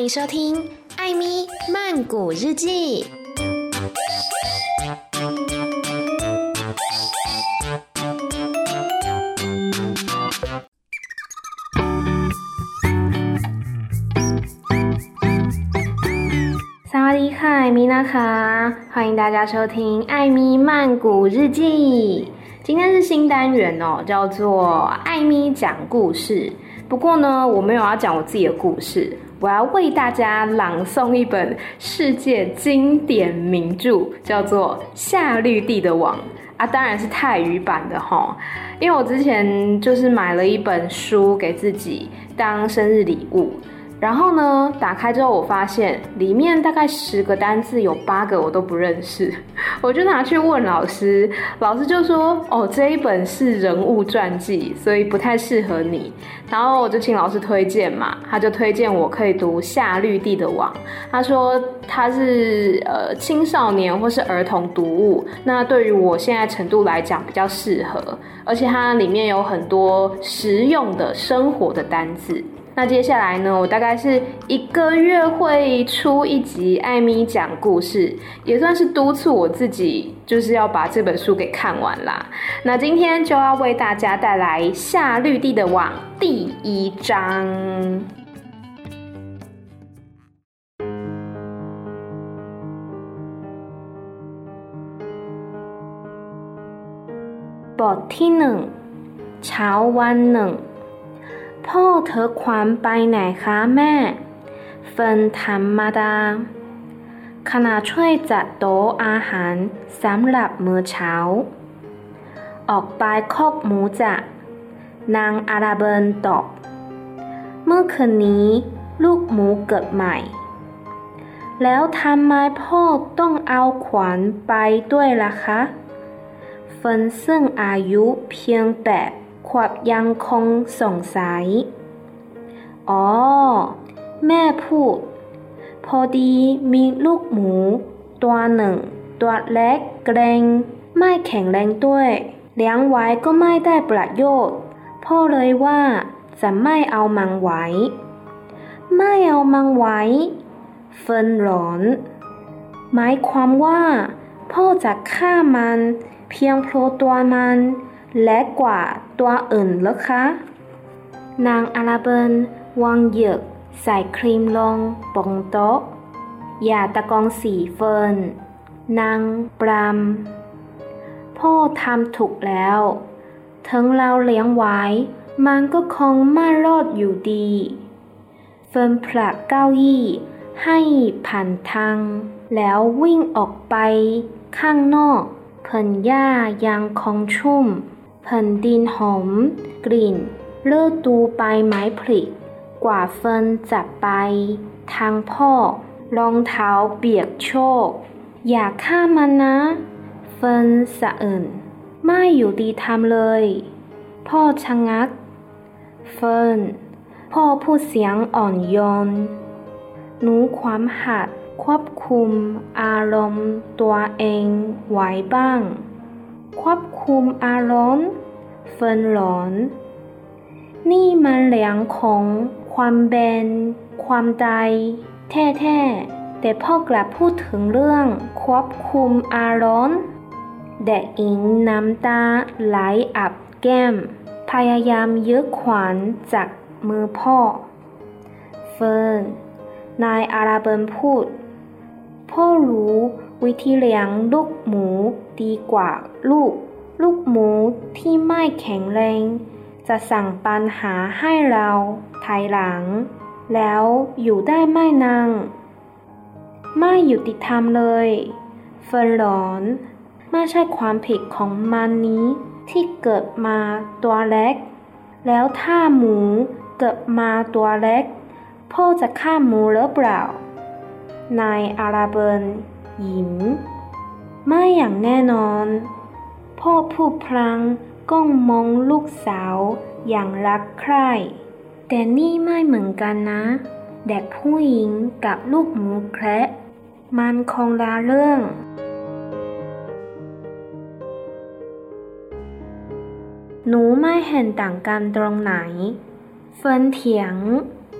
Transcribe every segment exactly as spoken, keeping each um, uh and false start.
歡迎收聽《艾咪曼谷日記》。薩瓦迪卡，米娜卡，歡迎大家收聽《艾咪曼谷日記》。今天是新單元哦，叫做艾咪講故事。不過呢，我沒有要講我自己的故事，我要為大家朗誦一本世界經典名著，叫做《夏綠蒂的網》啊，當然是泰語版的齁。因為我之前就是買了一本書給自己當生日禮物。然後呢，打開之後我發現裡面大概十個單字有八個我都不認識，我就拿去問老師，老師就說哦，這一本是人物傳記，所以不太適合你。然後我就請老師推薦嘛，他就推薦我可以讀《夏綠蒂的網》，他說它是呃青少年或是兒童讀物，那對於我現在程度來講比較適合，而且它裡面有很多實用的生活的單字。那接下來呢，我大概是一個月會出一集艾咪講故事，也算是督促我自己，就是要把這本書給看完啦。那今天就要為大家帶來《夏綠蒂的網》第一章。บทที่หนึ่งเช้าวันหนึ่งพ่อเธอควานไปไหนคะแม่เฟิร์นธรรมดาขณะช่วยจัดโต๊ะอาหารสำหรับมื้อเช้าออกไปคอกหมูจ้ะนางอาราเบิร์นตอบเมื่อคืนนี้ลูกหมูเกิดใหม่แล้วทำไมพ่อต้องเอาขวานไปด้วยล่ะคะเฟิร์นซึ่งอายุเพียงแปดขวบยังคงสงสัยอ๋อแม่พูดพอดีมีลูกหมูตัวหนึ่งตัวเล็กเกรงไม่แข็งแรงด้วยเลี้ยงไว้ก็ไม่ได้ประโยชน์พ่อเลยว่าจะไม่เอามันไว้ไม่เอามันไว้เฟิร์นร้อนหมายความว่าพ่อจะฆ่ามันเพียงเพราะตัวมันเล็กกว่าตัวอื่นเหรอคะนางอาราเบิร์นวางเหยือกใส่ครีมลงบนโต๊ะอย่าตะโกนสิเฟิร์นนางปรามพ่อทำถูกแล้วถึงเราเลี้ยงไว้มันก็คงไม่รอดอยู่ดีเฟิร์นผลักเก้าอี้ให้ผ่านทางแล้ววิ่งออกไปข้างนอกพื้นหญ้ายังคงชุ่มแผ่นดินหอมกลิ่นฤดูใบไม้ผลิกว่าเฟิร์นจะไปทางพ่อรองเท้าเปียกโชกอย่าฆ่ามันนะเฟิร์นสะอื้นไม่อยู่ดีทำเลยพ่อชะงักเฟิร์นพ่อพูดเสียงอ่อนโยนหนูความหัดควบคุมอารมณ์ตัวเองไว้บ้างควบคุมอารมณ์เฟิร์นหลอนนี่มันเรื่องของความเป็นความตายแท้ๆแต่พ่อกลับพูดถึงเรื่องควบคุมอารมณ์เด็กหญิงน้ำตาไหลอาบแก้มพยายามยึดขวานจากมือพ่อเฟิร์นนายอาราเบิร์นพูดพ่อรู้วิธีเลี้ยงลูกหมูดีกว่าลูกลูกหมูที่ไม่แข็งแรงจะสั่งปัญหาให้เราภายหลังแล้วอยู่ได้ไม่นานไม่ยุติธรรมเลยเฟิร์นหลอนไม่ใช่ความผิดของมันนี้ที่เกิดมาตัวเล็กแล้วถ้าหมูเกิดมาตัวเล็กพ่อจะฆ่าหมูหรือเปล่านายอาราเบิร์นยิ้มไม่อย่างแน่นอนพ่อพูดพลางก้มมองลูกสาวอย่างรักใคร่แต่นี่ไม่เหมือนกันนะเด็กผู้หญิงกับลูกหมูแคระมันคงละเรื่องหนูไม่เห็นต่างกันตรงไหนเฟิร์นเถียง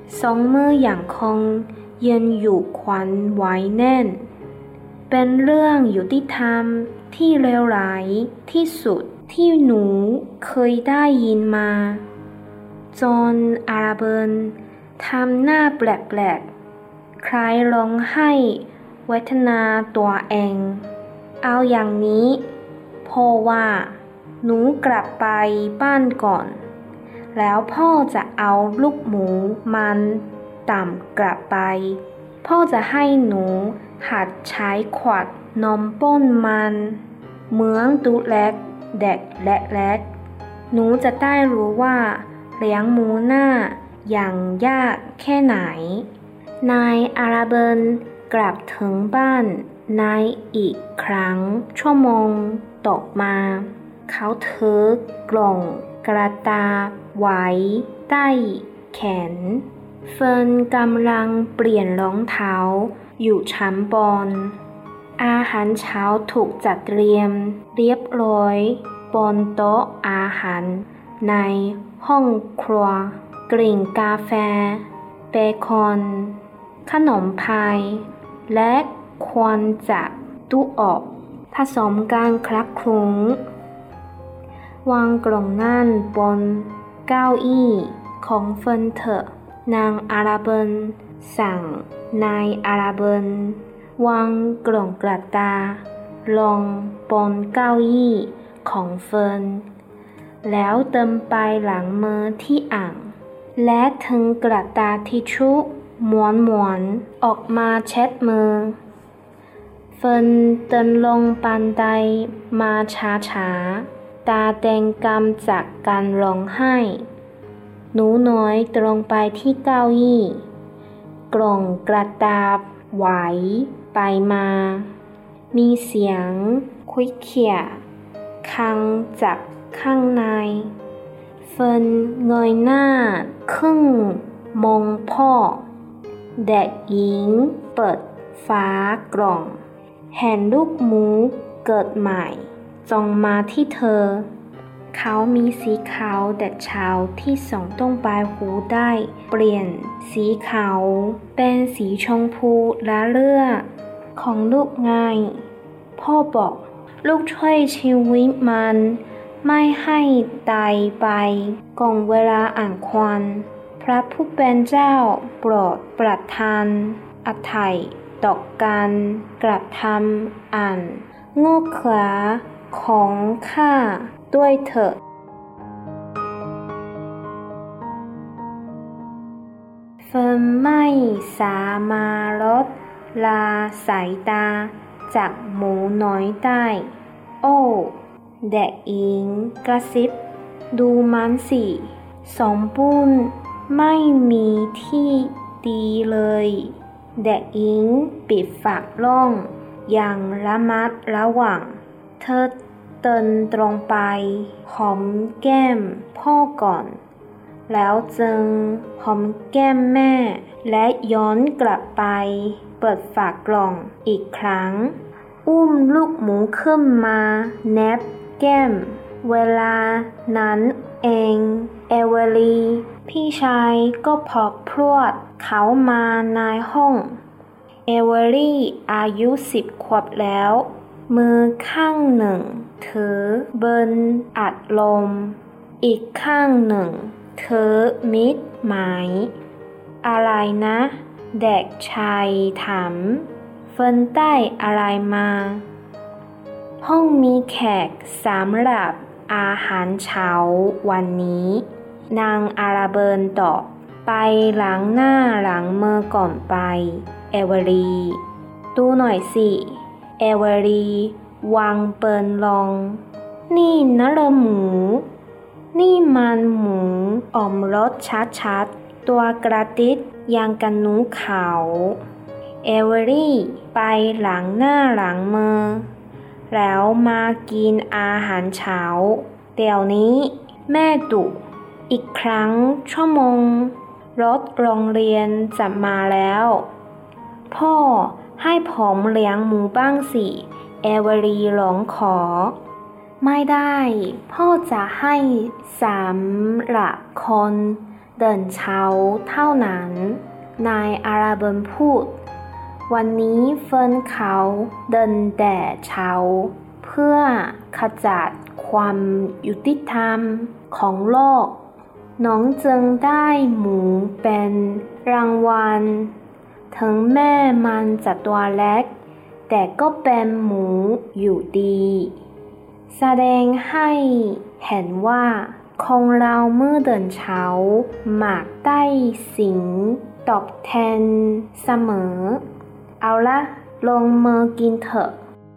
สองมืออย่างคงยืนอยู่ขวัญไว้แน่นเป็นเรื่องยุติธรรมที่เลวร้ายที่สุดที่หนูเคยได้ยินมาจนอาราเบิลทำหน้าแปลกๆคล้ายร้องไห้เวทนาตัวเองเอาอย่างนี้พ่อว่าหนูกลับไปบ้านก่อนแล้วพ่อจะเอาลูกหมูมันต่ำกลับไปพ่อจะให้หนูหัดใช้ขวดนมป้นมันเหมือนตูเล็กเด็กและเล็กหนูจะได้รู้ว่าเลี้ยงหมูหน้าอย่างยากแค่ไหนนายอาราเบิลกลับถึงบ้านในอีกครั้งชั่วโมงต่อมาเขาถือกล่องกระดาษไว้ใต้แขนเฟิร์นกำลังเปลี่ยนรองเท้าอยู่ชั้นบนอาหารเช้าถูกจัดเตรียมเรียบร้อยบนโต๊ะอาหารในห้องครัวกลิ่นกาแฟเบคอนขนมพายและควันจากตู้อบผสมกันคลักคลุ้งวางกล่องนั่นบนเก้าอี้ของเฟิร์นเถอะนางอาราเบิลสั่งนายอาราเบิลวางกล่องกระดาษลงบนเก้าอี้ของเฟิร์นแล้วเติมไปหลังมือที่อ่างและถึงกระดาษทิชชู่ม้วนๆออกมาเช็ดมือเฟิร์นเดินลงบันไดมาช้าๆตาแดงกำจากการร้องไห้หนูน้อยตรงไปที่เก้าอี้กล่องกระดาษไหวไปมามีเสียงคุยเขี่ยคังจากข้างในเฟิร์นเงยหน้าขึ้นมองพ่อเด็กหญิงเปิดฝากล่องเห็นลูกหมูเกิดใหม่จ้องมาที่เธอเขามีสีขาวแต่เช้าที่ส่องต้องปลายหูได้เปลี่ยนสีขาวเป็นสีชมพูละเลือดของลูกไงพ่อบอกลูกช่วยชีวิตมันไม่ให้ตายไปก่อนเวลาอันควรพระผู้เป็นเจ้าโปรดประทานอภัยต่อการกระทำอันโง่เขลาของข้าด้วยเถิดเฟิร์นไม่สามารถลดละสายตาจากหมูน้อยได้โอ้เด็กหญิงกระซิบดูมันสิสมบูรณ์ไม่มีที่ดีเลยเด็กหญิงปิดฝากล่องอย่างระมัดระวังเธอเดินตรงไปหอมแก้มพ่อก่อนแล้วจึงหอมแก้มแม่และย้อนกลับไปเปิดฝากกล่องอีกครั้งอุ้มลูกหมูขึ้นมาแนบแก้มเวลานั้นเองเอเวอรีพี่ชายก็พอพรวดเขามาในห้องเอเวอรี่อายุสิบขวบแล้วมือข้างหนึ่งถือเบิร์นอัดลมอีกข้างหนึ่งถือมิดหมายอะไรนะเด็กชายถามเฟิร์นได้อะไรมาห้องมีแขกสำหรับอาหารเช้าวันนี้นางอาราเบิลตอบไปล้างหน้าล้างมือก่อนไปเอเวอรีดูหน่อยสิเอเวอรีวางเปิลลงนี่นะละหมูนี่มันหมูอมรสชัดๆตัวกระติดยังกันหนูขาวเอเวอรี่ไปล้างหน้าล้างมือแล้วมากินอาหารเช้าเดี๋ยวนี้แม่ดุอีกครั้งชั่วโมงรถโรงเรียนจะมาแล้วพ่อให้ผมเลี้ยงหมูบ้างสิเอเวอรีร้องขอไม่ได้พ่อจะให้สำหรับคนเดินเช้าเท่านั้นนายอาราเบินพูดวันนี้เฟิร์นเขาเดินแต่เช้าเพื่อขจัดความยุติธรรมของโลกน้องจึงได้หมูเป็นรางวัลถึงแม้มันจะตัวเล็กแต่ก็เป็นหมูอยู่ดีแสดงให้เห็นว่าคนเราเมื่อเดินเช้ามักได้สิ่งตอบแทนเสมอเอาละลงมือกินเถอะ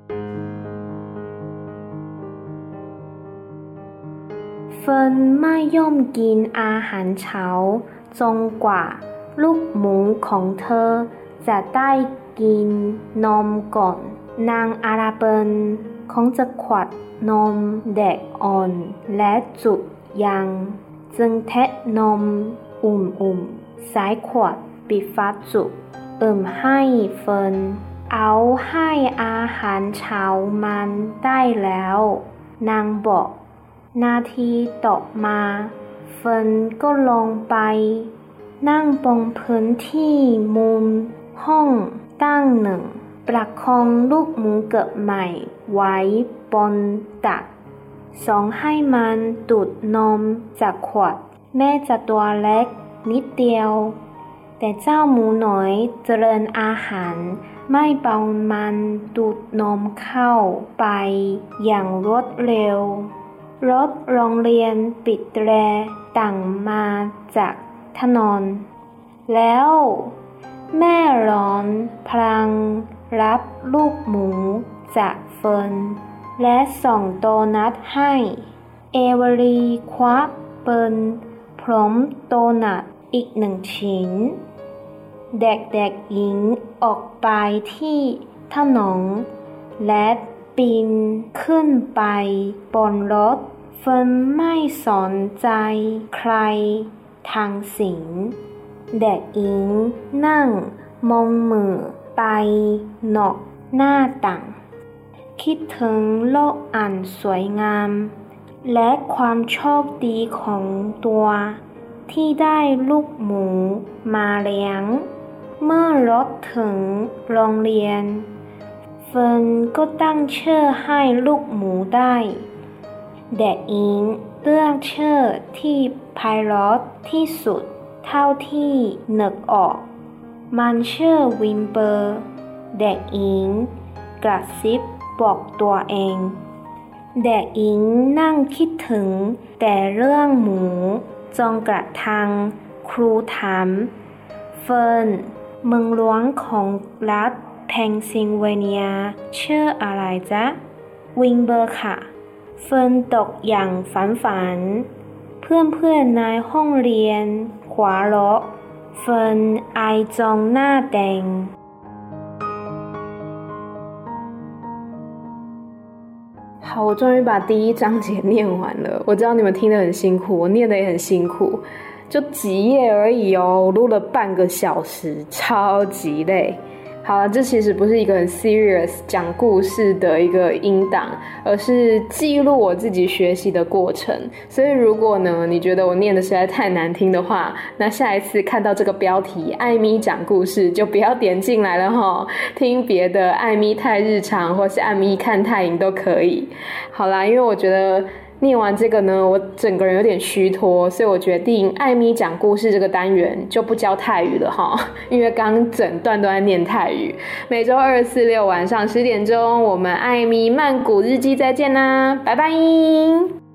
เฟิร์นไม่ยอมกินอาหารเช้าจนกว่าลูกหมูของเธอจะได้กินนมก่อนนางอาราเบินคงจะขวดนมเด็กอ่อนและจุกยังจึงเทนมอุ่มๆใส่ขวดปิดฝาจุกเอิ่มให้เฟิร์นเอาให้อาหารเช้ามันได้แล้วนางบอกนาทีต่อมาเฟิร์นก็ลงไปนั่งบนพื้นที่มุมห้องตั้งหนึ่งประคองลูกหมูเกิดใหม่ไว้บนตักส่งให้มันดูดนมจากขวดแม้จะตัวเล็กนิดเดียวแต่เจ้าหมูน้อยเจริญอาหารไม่เบามันดูดนมเข้าไปอย่างรวดเร็วรถโรงเรียนปิดแตรต่างมาจากถนนแล้วแม่ร้อนพลางรับลูกหมูจากเฟิร์นและส่งโดนัทให้เอเวอรีคว้าปืนพร้อมโดนัทอีกหนึ่งชิ้นเด็กๆหญิงออกไปที่ถนนและปีนขึ้นไปบนรถเฟิร์นไม่สนใจใครทั้งสิ้นเด็กหญิงนั่งมองมือไปนอกหน้าต่างคิดถึงโลกอันสวยงามและความโชคดีของตัวที่ได้ลูกหมูมาเลี้ยงเมื่อรถถึงโรงเรียนเฟิร์นก็ตั้งชื่อให้ลูกหมูได้เด็กหญิงเลือกชื่อที่ไพเราะที่สุดเท่าที่นึกออกมันชื่อวิมเบอร์เด็กหญิงกระซิบบอกตัวเองเด็กหญิงนั่งคิดถึงแต่เรื่องหมูจนกระทั่งครูถามเฟิร์นเมืองหลวงของรัฐเพนซิลเวเนียชื่ออะไรจ๊ะวิมเบอร์ค่ะเฟิร์นตกอย่างฝันฝันเพื่อนๆในห้องเรียนหัวเราะเฟิร์นอายจนหน้าแดง好，我终于把第一章節念完了。我知道你們聽得很辛苦，我念得也很辛苦，就幾頁而已哦，我錄了半個小時，超級累。好了，這其實不是一個很 serious 講故事的一個音檔，而是記錄我自己學習的過程。所以如果呢，你覺得我念的實在太難聽的話，那下一次看到這個標題艾咪講故事就不要點進來了齁，聽別的艾咪太日常或是艾咪看泰影都可以。好啦，因為我覺得念完這個呢，我整個人有點虛脫，所以我決定艾咪講故事這個單元就不教泰語了齁，因為剛整段都在念泰語。每週二、四、六晚上十點鐘，我們艾咪曼谷日記再見啦，拜拜。